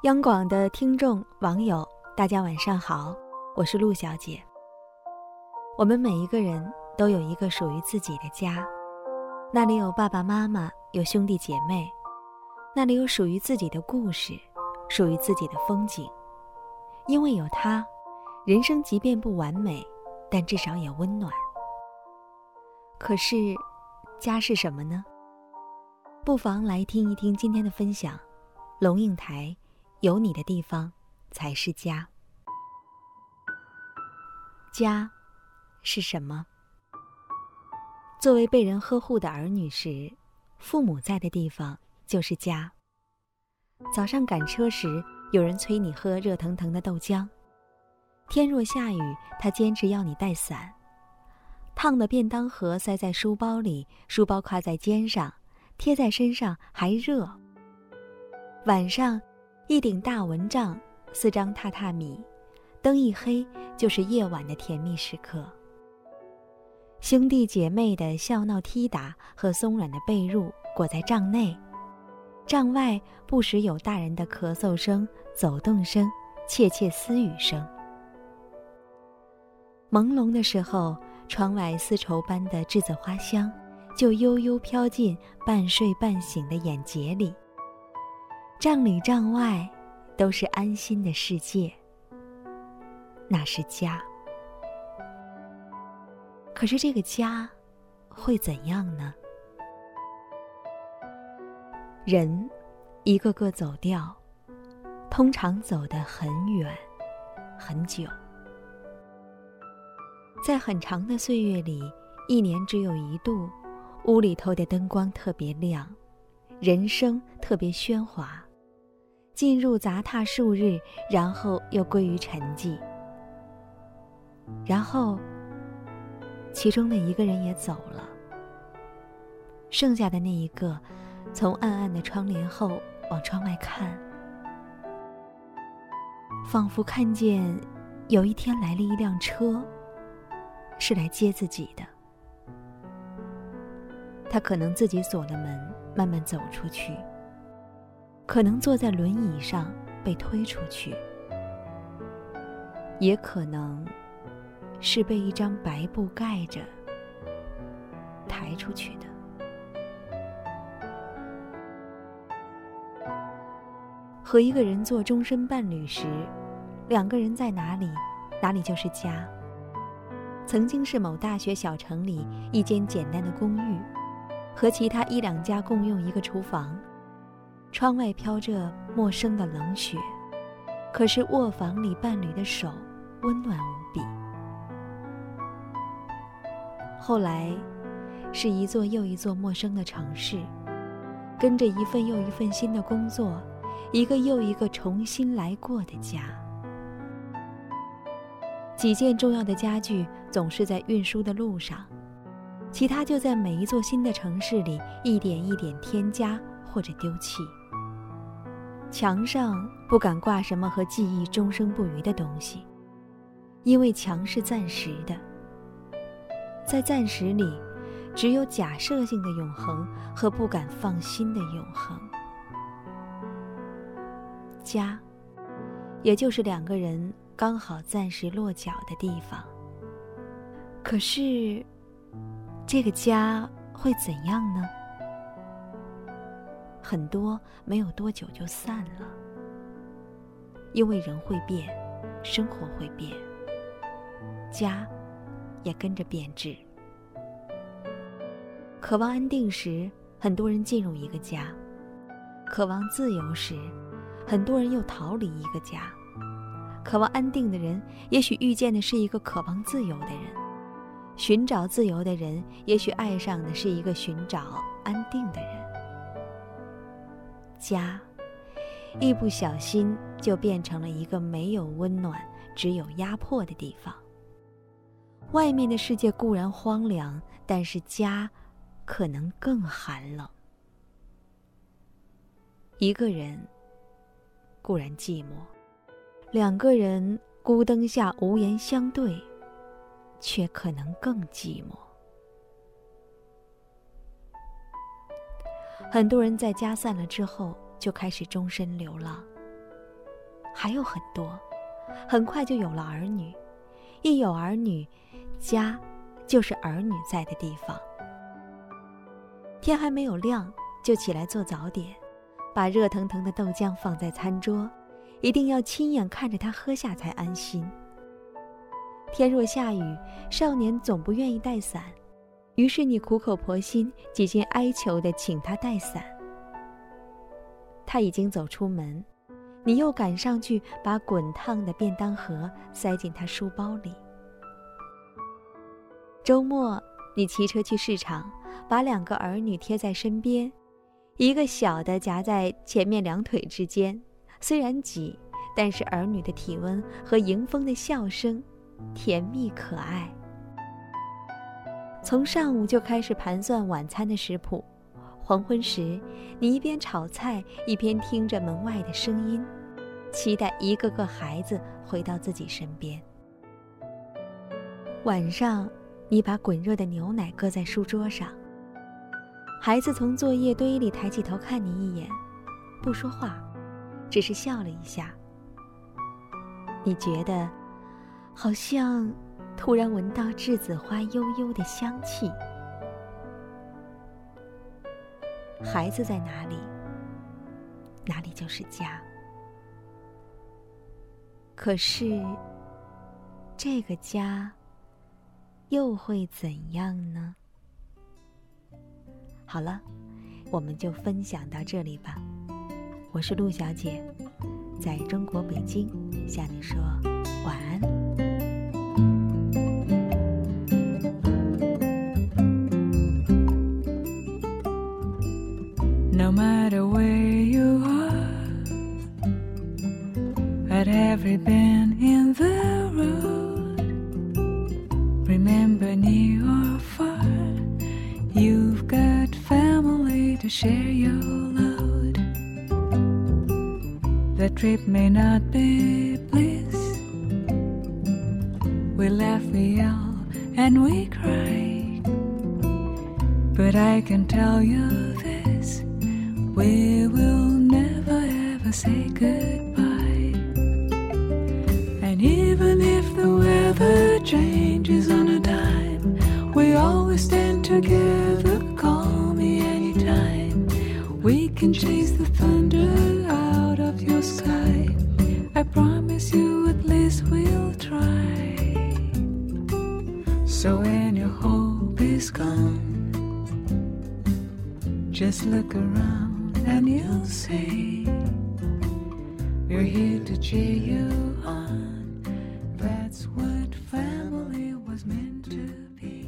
央广的听众网友，大家晚上好，我是陆小姐。我们每一个人都有一个属于自己的家，那里有爸爸妈妈，有兄弟姐妹，那里有属于自己的故事，属于自己的风景。因为有它，人生即便不完美，但至少也温暖。可是，家是什么呢？不妨来听一听今天的分享。龙应台，有你的地方才是家。家是什么？作为被人呵护的儿女时，父母在的地方就是家。早上赶车时，有人催你喝热腾腾的豆浆；天若下雨，他坚持要你带伞。烫的便当盒塞在书包里，书包挎在肩上，贴在身上还热。晚上一顶大蚊帐，4张榻榻米，灯一黑就是夜晚的甜蜜时刻。兄弟姐妹的笑闹踢打和松软的被褥裹在帐内，帐外不时有大人的咳嗽声、走动声、窃窃私语声。朦胧的时候，窗外丝绸般的栀子花香就悠悠飘进半睡半醒的眼睫里。帐里帐外都是安心的世界，那是家。可是这个家会怎样呢？人一个个走掉，通常走得很远很久。在很长的岁月里，1年只有1度，屋里头的灯光特别亮，人声特别喧哗，进入杂沓数日，然后又归于沉寂。然后其中的一个人也走了，剩下的那一个从暗暗的窗帘后往窗外看，仿佛看见有一天来了一辆车，是来接自己的。他可能自己锁了门，慢慢走出去，可能坐在轮椅上被推出去，也可能是被一张白布盖着抬出去的。和一个人做终身伴侣时，2个人在哪里，哪里就是家。曾经是某大学小城里一间简单的公寓，和其他1、2家共用一个厨房，窗外飘着陌生的冷雪，可是卧房里伴侣的手温暖无比。后来是一座又一座陌生的城市，跟着一份又一份新的工作，一个又一个重新来过的家。几件重要的家具总是在运输的路上，其他就在每一座新的城市里一点一点添加或者丢弃。墙上不敢挂什么和记忆终生不渝的东西，因为墙是暂时的，在暂时里只有假设性的永恒和不敢放心的永恒。家也就是2个人刚好暂时落脚的地方。可是这个家会怎样呢？很多没有多久就散了，因为人会变，生活会变，家也跟着变质。渴望安定时，很多人进入一个家；渴望自由时，很多人又逃离一个家。渴望安定的人，也许遇见的是一个渴望自由的人；寻找自由的人，也许爱上的是一个寻找安定的人。家，一不小心就变成了一个没有温暖，只有压迫的地方。外面的世界固然荒凉，但是家可能更寒冷。一个人固然寂寞，2个人孤灯下无言相对，却可能更寂寞。很多人在家散了之后就开始终身流浪， 还有很多，很快就有了儿女。一有儿女，家就是儿女在的地方。天还没有亮，就起来做早点，把热腾腾的豆浆放在餐桌，一定要亲眼看着他喝下才安心。天若下雨，少年总不愿意带伞，于是你苦口婆心，几近哀求地请他带伞。他已经走出门，你又赶上去把滚烫的便当盒塞进他书包里。周末你骑车去市场，把2个儿女贴在身边，一个小的夹在前面2腿之间，虽然挤，但是儿女的体温和迎风的笑声甜蜜可爱。从上午就开始盘算晚餐的食谱，黄昏时你一边炒菜一边听着门外的声音，期待一个个孩子回到自己身边。晚上你把滚热的牛奶搁在书桌上，孩子从作业堆里抬起头看你一眼，不说话，只是笑了一下。你觉得好像突然闻到栀子花悠悠的香气。孩子在哪里，哪里就是家。可是这个家又会怎样呢？好了，我们就分享到这里吧。我是陆小姐，在中国北京向你说晚安。 No matter where you are, at every bend in the road, remember near or far, you've got family to share your load. The trip may not be bliss, we laugh, we yell, and we cry, but I can tell you this, we will never ever say goodbye. And even if the weather changes on a dime, we always stand together, call me anytime. We can chase the thunder out of your sky, I promise you at least we'll try. So when your hope is gone, just look around and you'll see we're here to cheer you on. That's what family was meant to be.